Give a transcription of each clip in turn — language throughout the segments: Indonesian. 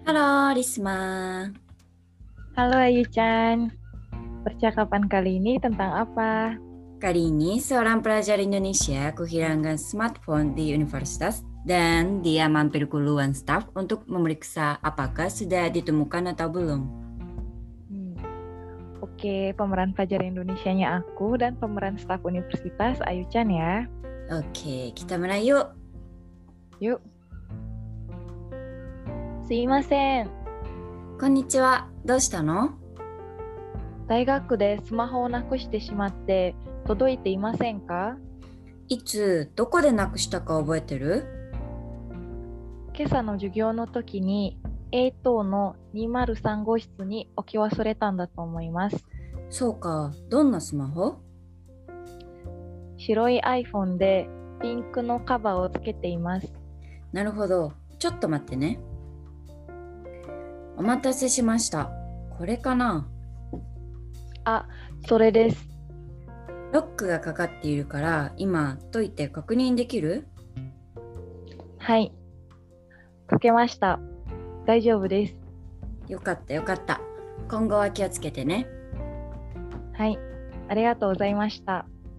Halo, Risma. Halo Ayu-chan, percakapan kali ini tentang apa? Kali ini seorang pelajar Indonesia kehilangan smartphone di universitas dan dia mampir ke ruang staf untuk memeriksa apakah sudah ditemukan atau belum. Oke, pemeran pelajar Indonesianya aku dan pemeran staf universitas Ayu-chan ya. Oke, kita mulai yuk. Yuk. Sumimasen, こんにちは。どうしたの？ 大学でスマホをなくしてしまって届いていませんか？ いつ、どこでなくしたか覚えてる？ 今朝の授業の時に A 棟の203号室に置き忘れたんだと思います。 そうか、どんなスマホ？ 白い iPhone でピンクのカバーをつけています。 なるほど。ちょっと待ってね。お待たせしました。これかな？ あ、それです。 ロックがかかっているから今解いて確認できる？ はい。解けました。大丈夫です。 よかったよかった。今後は気をつけてね。 はい。ありがとうございました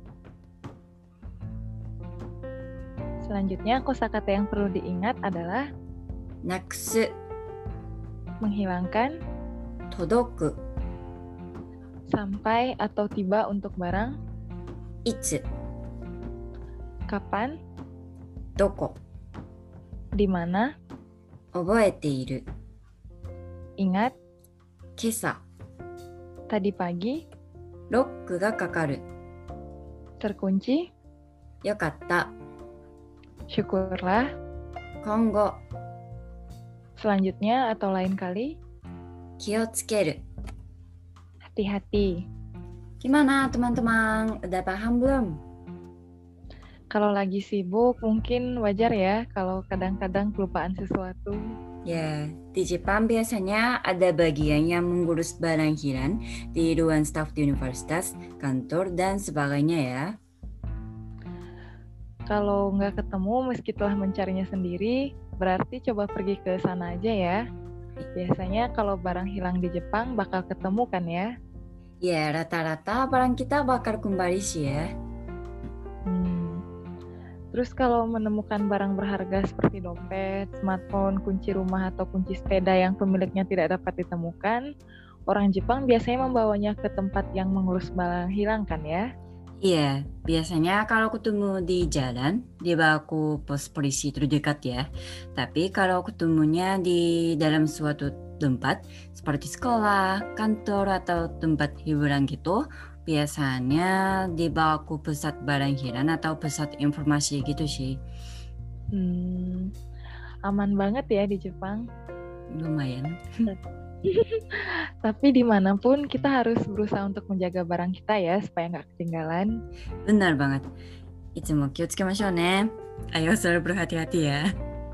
。Selanjutnya, kosakata yang perlu diingat adalah なくす、 menghilangkan, 届く、 sampai atau tiba untuk barang, いつ、 kapan, どこ、 di mana, 覚えている、 ingat, 今朝、 tadi pagi, ロックがかかる、 terkunci, よかった、 syukurlah, 今後、 selanjutnya atau lain kali, 気をつける。 hati-hati. Gimana teman-teman? Udah paham belum? Kalau lagi sibuk, mungkin wajar ya kalau kadang-kadang kelupaan sesuatu. Ya, di Jepang biasanya ada bagian yang mengurus barang hilang di ruang staf di universitas, kantor, dan sebagainya ya. Kalau nggak ketemu meski telah mencarinya sendiri, berarti coba pergi ke sana aja ya. Biasanya kalau barang hilang di Jepang bakal ketemu kan ya? Ya, rata-rata barang kita bakal kembali sih ya. Terus kalau menemukan barang berharga seperti dompet, smartphone, kunci rumah, atau kunci sepeda yang pemiliknya tidak dapat ditemukan, orang Jepang biasanya membawanya ke tempat yang mengurus barang hilang kan ya? Iya, biasanya kalau ketemu di jalan, dibawa ke pos polisi terdekat ya. Tapi kalau ketemunya di dalam suatu tempat, seperti sekolah, kantor, atau tempat hiburan gitu, biasanya dibawa ke pusat barang hilang atau pusat informasi gitu sih. Aman banget ya di Jepang. Lumayan. Tapi dimanapun kita harus berusaha untuk menjaga barang kita ya supaya nggak ketinggalan. Benar banget. いつも気をつけましょうね。Ayo selalu berhati-hati ya.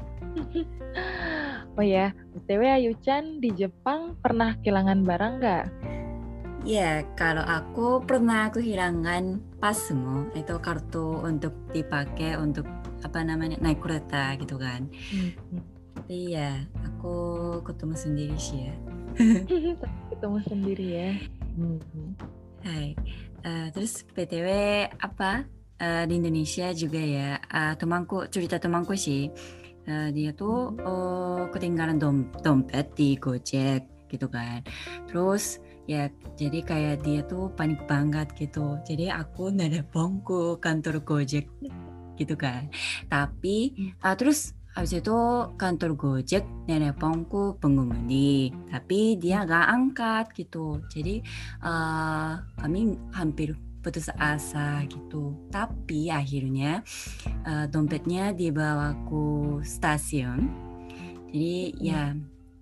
Oh ya, BTW Ayu-chan di Jepang pernah kehilangan barang nggak? Ya, kalau aku pernah kehilangan pasmo, itu kartu untuk dipakai untuk naik kereta gitu kan. Tapi ya, aku ketemu sendiri sih ya. Ketemu sendiri ya. Hai, terus PTW di Indonesia juga ya, cerita temanku sih, dia tuh ketinggalan dompet di Gojek gitu kan. Terus ya jadi kayak dia tuh panik banget gitu. Jadi aku nelpon ke kantor Gojek gitu kan. Tapi terus habis itu kantor Gojek nelpon ke pengemudi, tapi dia gak angkat gitu. Jadi kami hampir putus asa gitu. Tapi akhirnya dompetnya dibawa ke stasiun. Jadi ya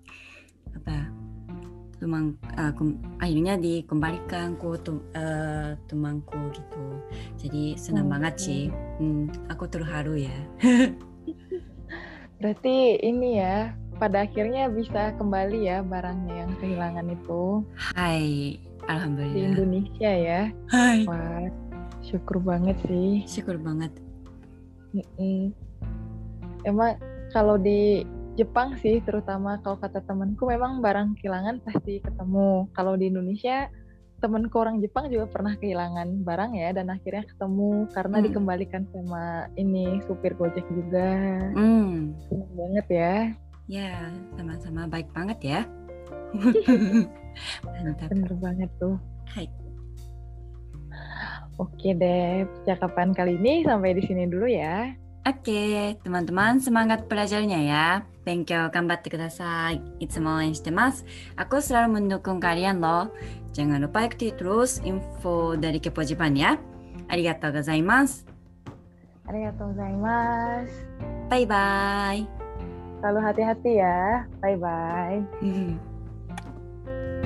akhirnya dikembalikan ke temanku gitu. Jadi senang banget sih. Aku terharu ya. Berarti ini ya, pada akhirnya bisa kembali ya barangnya yang kehilangan itu. Hai, alhamdulillah. Di Indonesia ya. Hai. Wah, syukur banget sih. Syukur banget. Emang kalau di Jepang sih, terutama kalau kata temanku memang barang kehilangan pasti ketemu. Kalau di Indonesia, temanku orang Jepang juga pernah kehilangan barang ya, dan akhirnya ketemu karena dikembalikan sama ini supir Gojek juga. Senang banget ya. Ya, sama-sama baik banget ya. Mantap. Bener banget tuh. Hai. Oke deh, percakapan kali ini sampai di sini dulu ya. Oke, teman-teman semangat belajarnya ya. 勉強頑張ってください。いつも応援してます。Aku selalu mendukung kalian loh. Jangan lupa ikuti terus info dari Kepo Jepang ya. Arigatou gozaimasu. Arigatou gozaimasu. Bye bye. Selalu hati-hati ya. Bye bye.